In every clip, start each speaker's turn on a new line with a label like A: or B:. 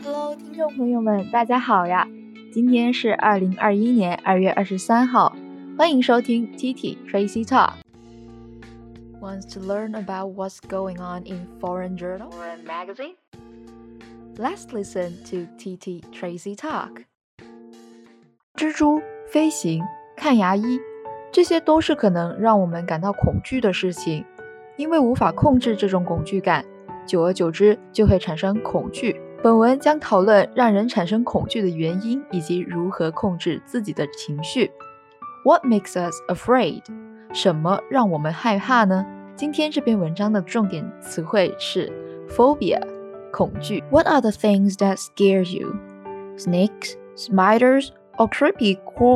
A: Hello， 听众朋友们，大家好呀！今天是2021年2月23号，欢迎收听 TT Tracy Talk。Wants to learn about what's going on in foreign journal or magazine? Let's listen to TT Tracy Talk。蜘蛛、飞行、看牙医，这些都是可能让我们感到恐惧的事情，因为无法控制这种恐惧感，久而久之就会产生恐惧。本文将讨论让人产生恐惧的原因，以及如何控制自己的情绪。What makes us afraid？ 什么让我们害怕呢？今天这篇文章的重点词汇是 phobia， 恐惧。What are the things that scare you? Snakes, spiders, or creepy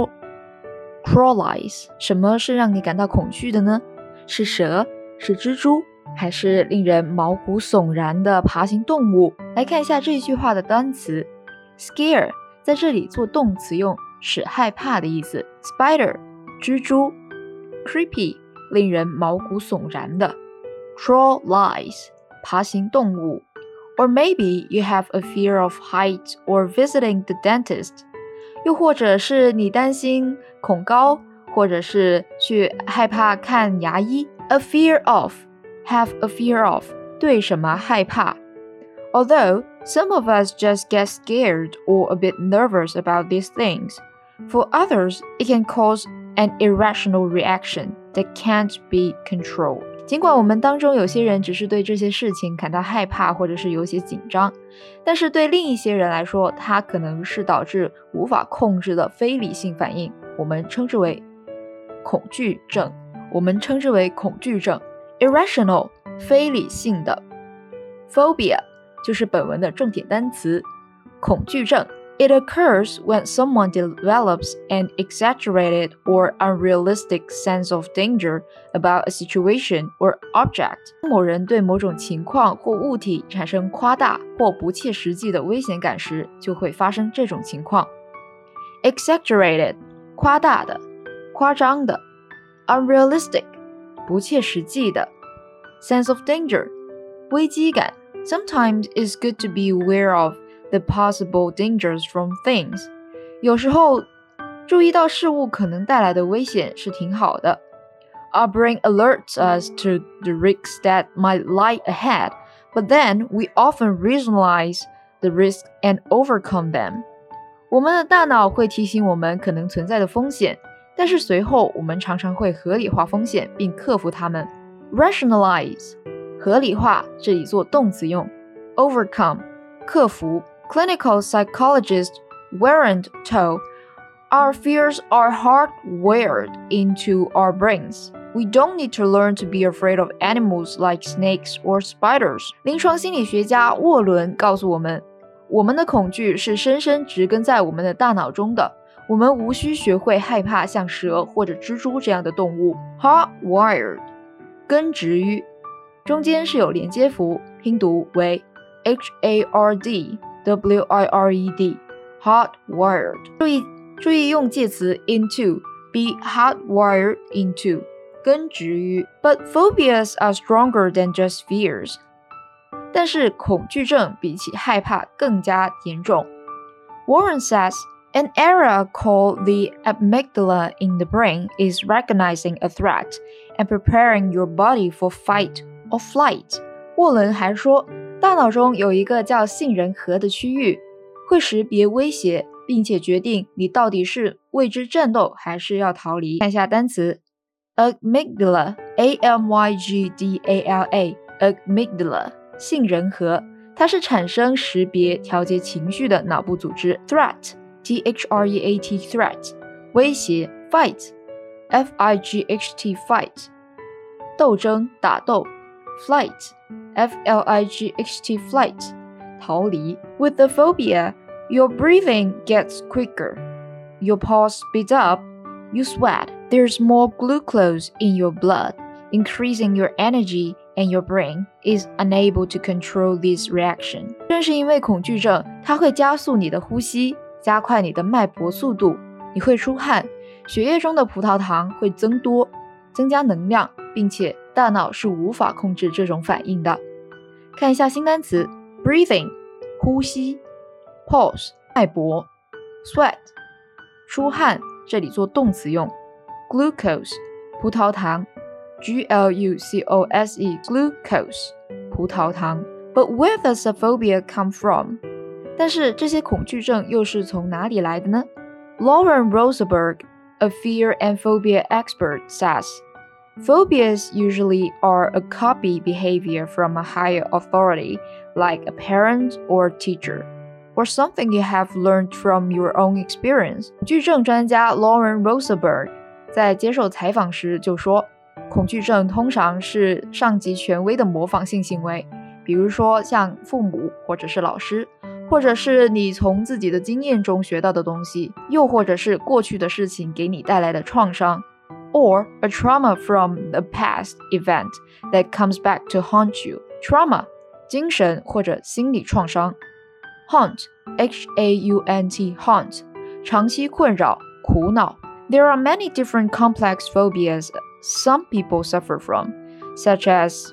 A: crawlies？ 什么是让你感到恐惧的呢？是蛇？是蜘蛛？还是令人毛骨悚然的爬行动物？来看一下这句话的单词 scare 在这里做动词用，使害怕的意思。 spider 蜘蛛， creepy 令人毛骨悚然的， crawlies 爬行动物。 Or maybe you have a fear of heights or visiting the dentist， 又或者是你担心恐高，或者是去害怕看牙医。 A fear of have a fear of 对什么害怕。 Although some of us just get scared or a bit nervous about these things, for others it can cause an irrational reaction that can't be controlled。 尽管我们当中有些人只是对这些事情感到害怕或者是有些紧张，但是对另一些人来说，它可能是导致无法控制的非理性反应，我们称之为恐惧症。Irrational 非理性的。 Phobia 就是本文的重点单词，恐惧症。 It occurs when someone develops an exaggerated or unrealistic sense of danger about a situation or object。 某人对某种情况或物体产生夸大或不切实际的危险感时，就会发生这种情况。 Exaggerated 夸大的、夸张的。 Unrealistic不切实际的。 Sense of danger 危机感。 Sometimes it's good to be aware of the possible dangers from things。 有时候注意到事物可能带来的危险是挺好的。 Our brain alerts us to the risks that might lie ahead, but then we often rationalize the risks and overcome them。 我们的大脑会提醒我们可能存在的风险，但是随后我们常常会合理化风险并克服它们。 Rationalize 合理化，这里做动词用。 Overcome 克服。 Clinical psychologists weren't told our fears are hardwired into our brains. We don't need to learn to be afraid of animals like snakes or spiders. 临床心理学家沃伦告诉我们，我们的恐惧是深深植根在我们的大脑中的，我们无需学会害怕像蛇或者蜘蛛这样的动物。 Hardwired 根植于，中间是有连接符，拼读为 HARDWIRED Hardwired。 注意用介词 into be hardwired into 根植于。 But phobias are stronger than just fears。 但是恐惧症比起害怕更加严重。 Warren says an area called the amygdala in the brain is recognizing a threat and preparing your body for fight or flight。 沃伦还说，大脑中有一个叫杏仁核的区域，会识别威胁，并且决定你到底是为之战斗还是要逃离。看一下单词 amygdala A-M-Y-G-D-A-L-A amygdala 杏仁核，它是产生、识别、调节情绪的脑部组织。 Threat T-H-R-E-A-T threat 威胁。 Fight F-I-G-H-T fight 斗争、打斗。 Flight F-L-I-G-H-T flight 逃离。 With the phobia, your breathing gets quicker, your pulse speeds up, you sweat, there's more glucose in your blood, increasing your energy, and your brain is unable to control this reaction。 正是因为恐惧症，它会加速你的呼吸，加快你的脉搏速度，你会出汗，血液中的葡萄糖会增多，增加能量，并且大脑是无法控制这种反应的。看一下新单词 breathing 呼吸。 pulse 脉搏 sweat 出汗，这里做动词用 glucose 葡萄糖 glucose glucose 葡萄糖 But where does the phobia come from? 但是这些恐惧症又是从哪里来的呢？ Lauren Rosenberg, a fear and phobia expert, says, Phobias usually are a copy behavior from a higher authority, like a parent or teacher, or something you have learned from your own experience. 恐惧症专家 Lauren Rosenberg 在接受采访时就说，恐惧症通常是上级权威的模仿性行为，比如说像父母或者是老师，或者是你从自己的经验中学到的东西，又或者是过去的事情给你带来的创伤。Or a trauma from a past event that comes back to haunt you. Trauma, 精神或者心理创伤。Haunt, H-A-U-N-T, haunt, 长期困扰、苦恼。There are many different complex phobias some people suffer from, such as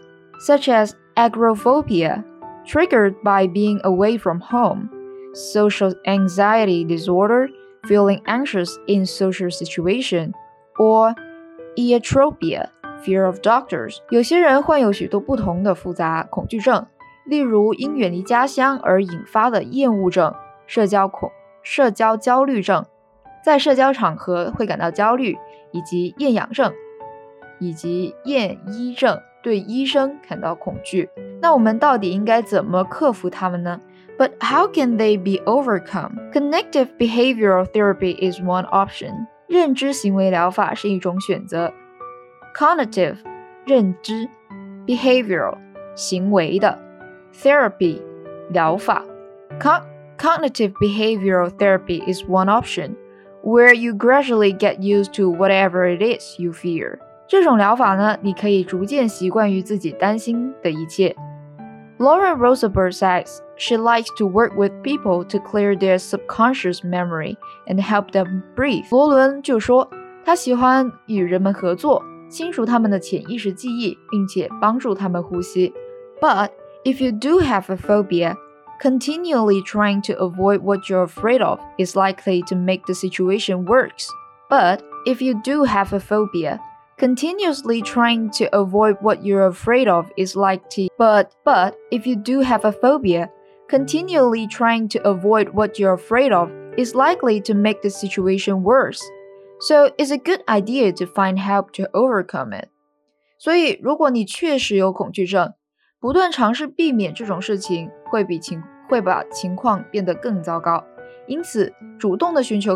A: agoraphobia, triggered by being away from home, social anxiety disorder, feeling anxious in social situation, or iatrobia, fear of doctors. 有些人患有许多不同的复杂恐惧症，例如因远离家乡而引发的厌恶症、社交焦虑症，在社交场合会感到焦虑，以及厌氧症，以及厌医症，对医生感到恐惧。那我们到底应该怎么克服它们呢？ But how can they be overcome? Cognitive behavioral therapy is one option. 认知行为疗法是一种选择。Cognitive 认知 Behavioral 行为的 Therapy 疗法 Cognitive behavioral therapy is one option, where you gradually get used to whatever it is you fear. 这种疗法呢，你可以逐渐习惯于自己担心的一切。Lauren Rosenberg says she likes to work with people to clear their subconscious memory and help them breathe. 罗伦就说，她喜欢与人们合作，清除他们的潜意识记忆，并且帮助他们呼吸。But if you do have a phobia, continually trying to avoid what you're afraid of is likely to make the situation worse. But if you do have a phobia, continuously trying to avoid what you're afraid of is likely but if you do have a phobia, continually trying to avoid what you're afraid of is likely to make the situation worse. So it's a good idea to find help to overcome it. 所以如果你确实有恐惧症，不断尝试避免这种事情会把情况变得更糟糕。因此，主动的寻求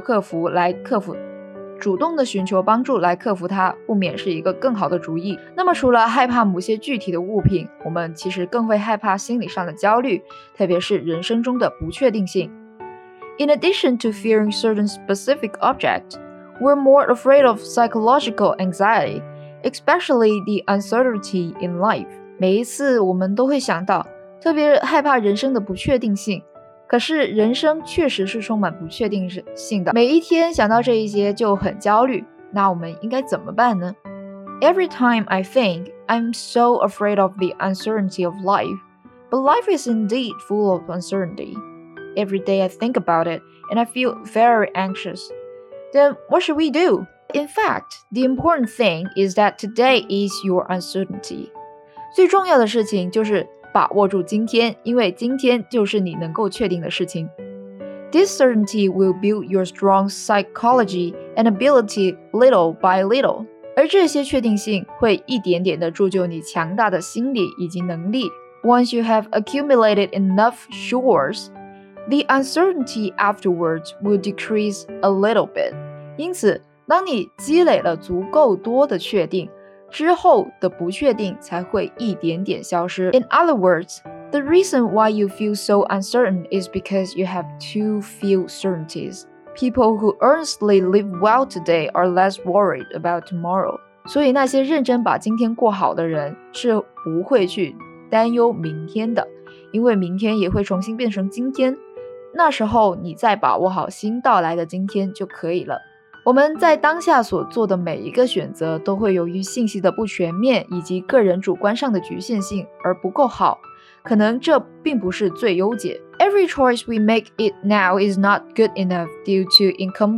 A: 帮助来克服它，不免是一个更好的主意。那么除了害怕某些具体的物品，我们其实更会害怕心理上的焦虑，特别是人生中的不确定性。In addition to fearing certain specific objects, we're more afraid of psychological anxiety, especially the uncertainty in life. 每一次我们都会想到，特别害怕人生的不确定性。可是人生确实是充满不确定性的，每一天想到这一些就很焦虑，那我们应该怎么办呢？ Every time I think I'm so afraid of the uncertainty of life, but life is indeed full of uncertainty. Every day I think about it and I feel very anxious. Then what should we do? In fact, the important thing is that today is your uncertainty. 最重要的事情就是把握住今天，因为今天就是你能够确定的事情。This certainty will build your strong psychology and ability little by little. 而这些确定性会一点点地铸就你强大的心理以及能力。Once you have accumulated enough sure's, the uncertainty afterwards will decrease a little bit. 因此，当你积累了足够多的确定，之后的不确定才会一点点消失。In other words, the reason why you feel so uncertain is because you have too few certainties. People who earnestly live well today are less worried about tomorrow. 所以那些认真把今天过好的人是不会去担忧明天的，因为明天也会重新变成今天。那时候你再把握好新到来的今天就可以了。我们在当下所做的每一个选择都会由于信息的不全面以及个人主观上的局限性而不够好，可能这并不是最优解。 Every choice we make it now is not good enough due to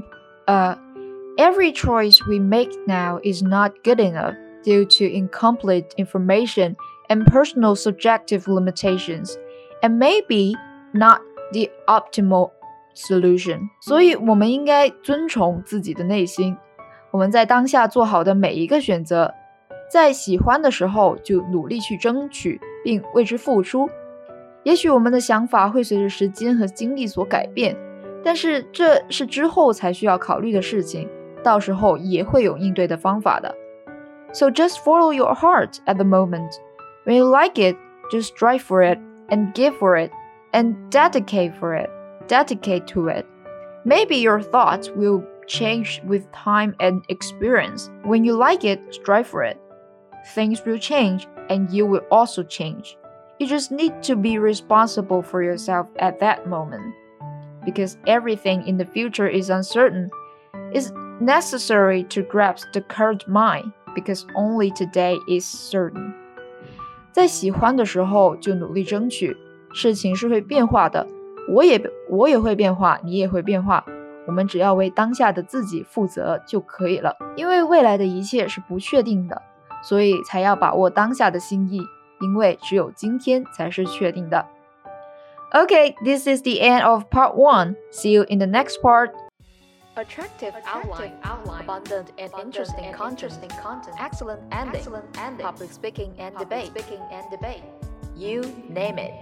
A: Every choice we make now is not good enough due to incomplete information and personal subjective limitations, and maybe not the optimal solution. 所以我们应该遵从自己的内心，我们在当下做好的每一个选择，在喜欢的时候就努力去争取并为之付出。也许我们的想法会随着时间和精力所改变，但是这是之后才需要考虑的事情，到时候也会有应对的方法的。So just follow your heart at the moment. When you like it, just strive for it and give for it and dedicate to it. Maybe your thoughts will change with time and experience. When you like it, strive for it. Things will change and you will also change. You just need to be responsible for yourself at that moment. Because everything in the future is uncertain. It's necessary to grasp the current mind, because only today is certain. 在喜欢的时候就努力争取，事情是会变化的，我也会变化，你也会变化，我们只要为当下的自己负责就可以了。因为未来的一切是不确定的，所以才要把握当下的心意，因为只有今天才是确定的。Okay, this is the end of part 1. See you in the next part. Attractive outline, abundant and interesting content, excellent ending, public speaking and debate. You name it.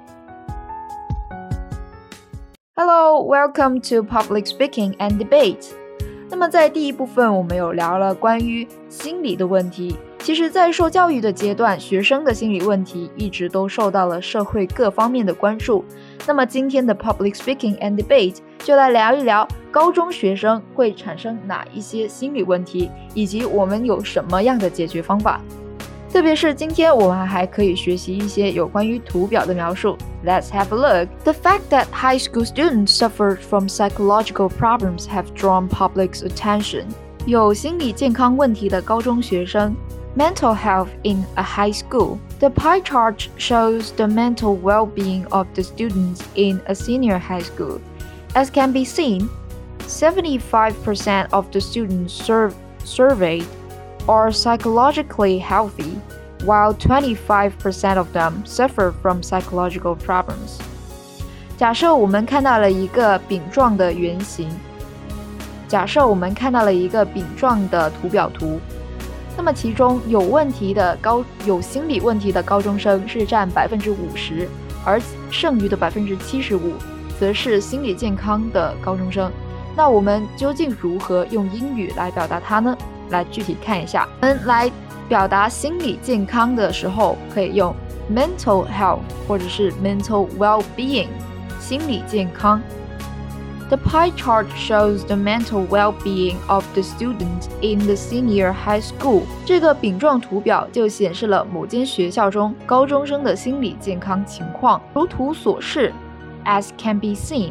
A: Hello, welcome to Public Speaking and Debate. 那么在第一部分我们有聊了关于心理的问题。其实在受教育的阶段，学生的心理问题一直都受到了社会各方面的关注。那么今天的 Public Speaking and Debate 就来聊一聊高中学生会产生哪一些心理问题，以及我们有什么样的解决方法。特别是今天我们还可以学习一些有关于图表的描述。Let's have a look. The fact that high school students suffered from psychological problems have drawn public's attention. 有心理健康问题的高中学生 Mental health in a high school. The pie chart shows the mental well-being of the students in a senior high school. As can be seen, 75% of the students surveyed are psychologically healthy, while 25% of them suffer from psychological problems. 假设我们看到了一个饼状的圆形，假设我们看到了一个饼状的图表图，那么其中有心理问题的高中生是占 50%， 而剩余的 75% 则是心理健康的高中生。那我们究竟如何用英语来表达它呢？来具体看一下。我们来表达心理健康的时候，可以用 mental health 或者是 mental well-being 心理健康。The pie chart shows the mental well-being of the students in the senior high school. 这个饼状图表就显示了某间学校中高中生的心理健康情况。如图所示 As can be seen,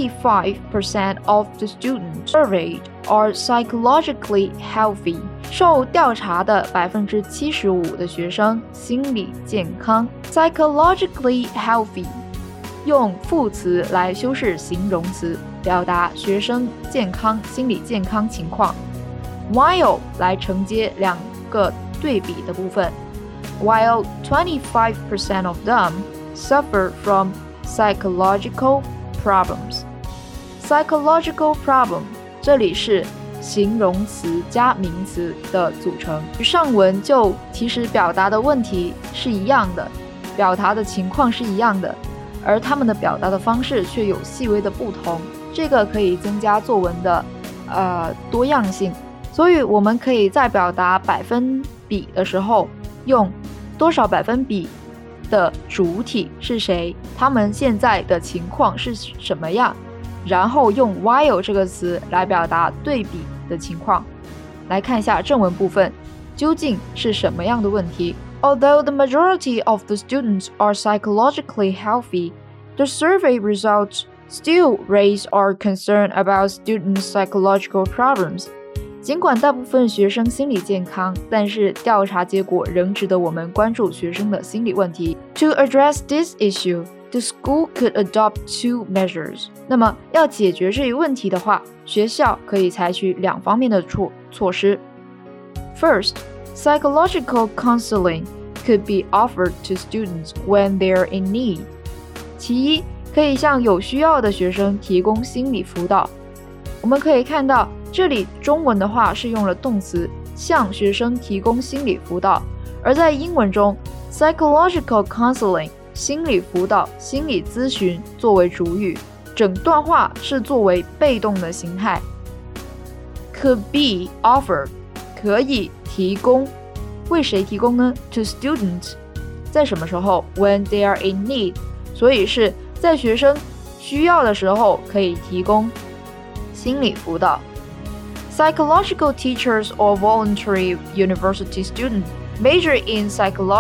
A: 65% of the students surveyed are psychologically healthy. 受调查的 75% 的学生心理健康 psychologically healthy 用副词来修饰形容词，表达学生健康、心理健康情况。While 来承接两个对比的部分。While 25% of them suffer from psychological problems. Psychological problem 这里是形容词加名词的组成。与上文就其实表达的问题是一样的，表达的情况是一样的。而他们的表达的方式却有细微的不同，这个可以增加作文的多样性。所以我们可以在表达百分比的时候，用多少百分比的主体是谁，他们现在的情况是什么样，然后用 while 这个词来表达对比的情况。来看一下正文部分，究竟是什么样的问题？Although the majority of the students are psychologically healthy, the survey results still raise our concern about students' psychological problems. 尽管大部分学生心理健康，但是调查结果仍值得我们关注学生的心理问题。To address this issue, the school could adopt 2 measures. 那么要解决这一问题的话，学校可以采取2方面的措施。First, psychological counseling could be offered to students when they're in need. 其一，可以向有需要的学生提供心理辅导。我们可以看到，这里中文的话是用了动词向学生提供心理辅导，而在英文中 psychological counseling 心理辅导、心理咨询作为主语，整段话是作为被动的形态。Could be offered 可以提供，为谁提供呢？ To students 在什么时候？ When they are in need 所以是在学生需要的时候可以提供心理辅导。Psychological teachers or voluntary university students majored in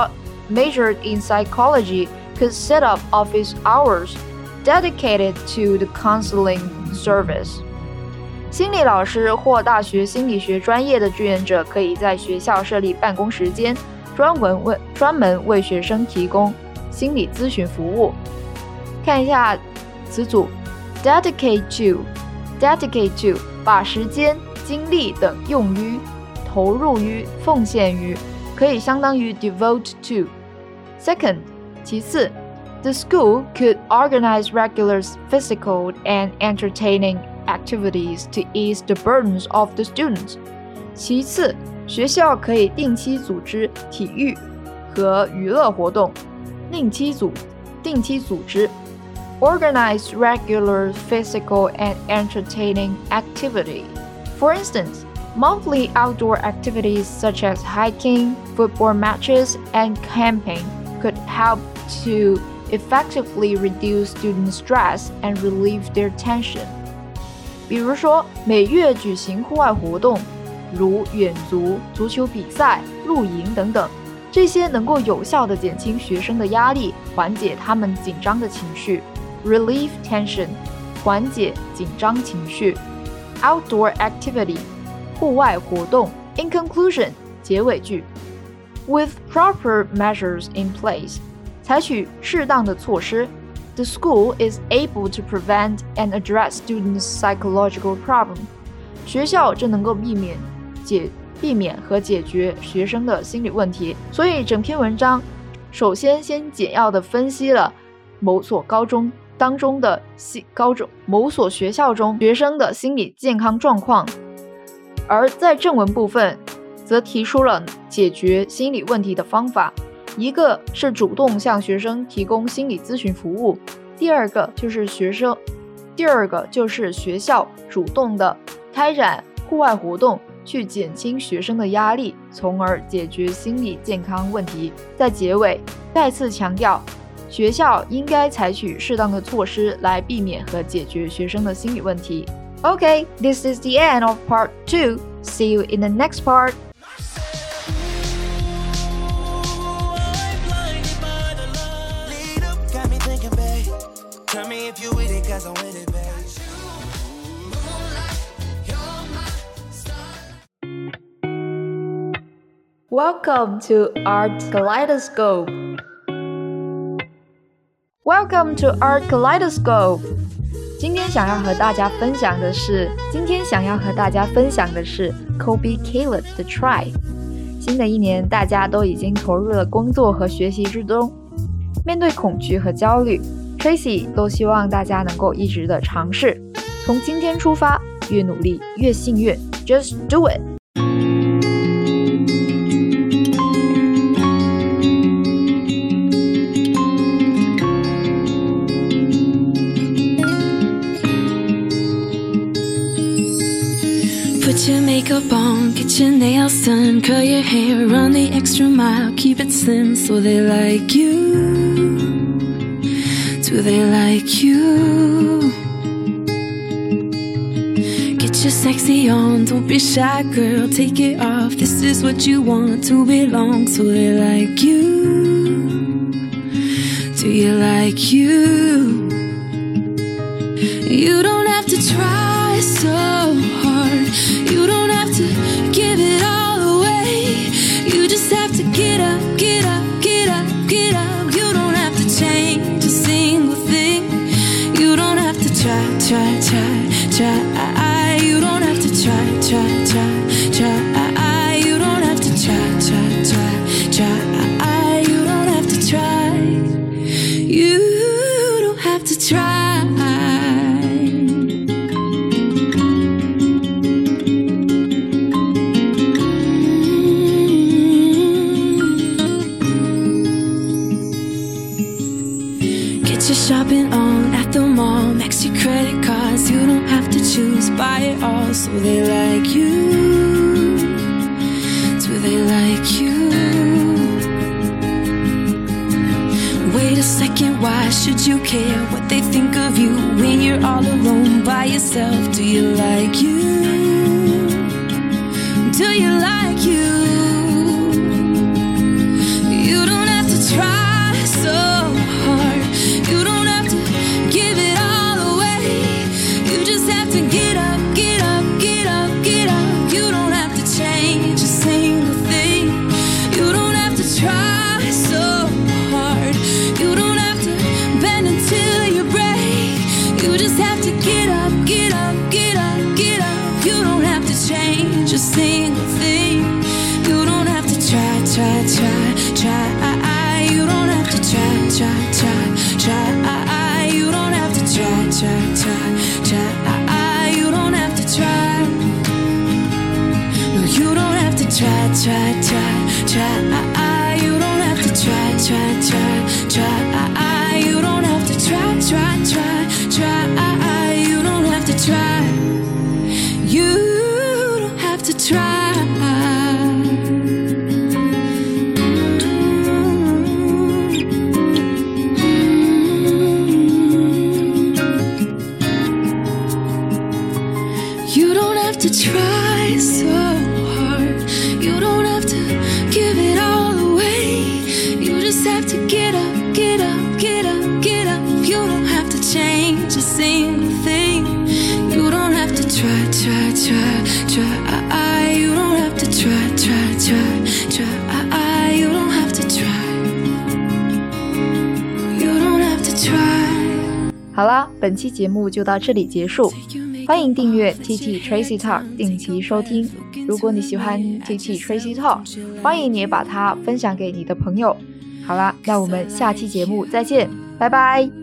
A: psychology could set up office hours dedicated to the counseling service. 心理老师或大学心理学专业的志愿者可以在学校设立办公时间，专门为学生提供心理咨询服务。看一下词组 dedicate to 把时间、精力等用于、投入于、奉献于，可以相当于 devote to。 Second 其次 the school could organize regular physical and entertaining activities to ease the burdens of the students. 其次，学校可以定期组织体育和娱乐活动。定期组织 organize regular physical and entertaining activity. For instance, monthly outdoor activities such as hiking, football matches, and camping could help to effectively reduce student stress and relieve their tension. 比如说，每月举行户外活动，如远足、足球比赛、露营等等，这些能够有效地减轻学生的压力，缓解他们紧张的情绪。Relieve tension 缓解紧张情绪。Outdoor activity 户外活动。In conclusion 结尾句 With proper measures in place 采取适当的措施The school is able to prevent and address students' psychological problem. 学校就能够避免和解决学生的心理问题。所以整篇文章首先简要地分析了某所学校中学生的心理健康状况，而在正文部分则提出了解决心理问题的方法。一个是主动向学生提供心理咨询服务，第二个就是学校主动的开展户外活动，去减轻学生的压力，从而解决心理健康问题。在结尾再次强调，学校应该采取适当的措施来避免和解决学生的心理问题。Okay, this is the end of part 2. See you in the next part.
B: Tell me if you with it, cause I'm with it, babe.
A: Welcome to Art Kaleidoscope. Welcome to Art Kaleidoscope. 今天想要和大家分享的是 Colby Caleb 的 Try. 新的一年，大家都已经投入了工作和学习之中。面对恐惧和焦虑，Tracy 都希望大家能够一直的尝試，從今天出發，越努力越幸運 Just do it!
C: Put your makeup on, get your nails done, curl your hair, run the extra mile, keep it slim so they like you.Do they like you? Get your sexy on, don't be shy, girl, take it off. This is what you want to belong, so they like you. Do you like you? You don't have to try so hard. You don't have to give it all away. You just have to get up, get up, get up, get up. You don't have to change a single try, try, try. You don't have to try, try, try, try. You don't have to try, try, try, try. You don't have to try. You don't have to try. Get your shopping on at the mall, max your credit cards. You don't have to choose, buy it all. So they like you. Do they like you? Wait a second, why should you care what they think of you when you're all alone by yourself? Do you like you? Do you like you? You don't have to try so hard. You don't have to give it all away. You just have to get up, get up, get up, get up. You don't have to change a single thing. You don't have to try so hard. You don't have to bend until you break. You just have to get up, get up, get up, get up. You don't have to change a single thing. You don't have to try, try, try, try. You don't have to try, try, try, try. You don't have to try, try, try, try. You don't have to try. No, you don't have to try, try, try, try. You don't have to try, try, try, try. You don't have to try, try, try, try. You don't have to try. You don't have to try. You don't have to try so hard. You don't have to give it all away. You just have to get up, get up, get up, get up. You don't have to change a single thing. You don't have to try, try, try, try. You don't have to try, try, try, try. You don't have to try. You don't have to try.
A: 好啦，本期节目就到这里结束。欢迎订阅 TT Tracy Talk 定期收听。如果你喜欢 TT Tracy Talk， 欢迎你也把它分享给你的朋友。好啦，那我们下期节目再见，拜拜。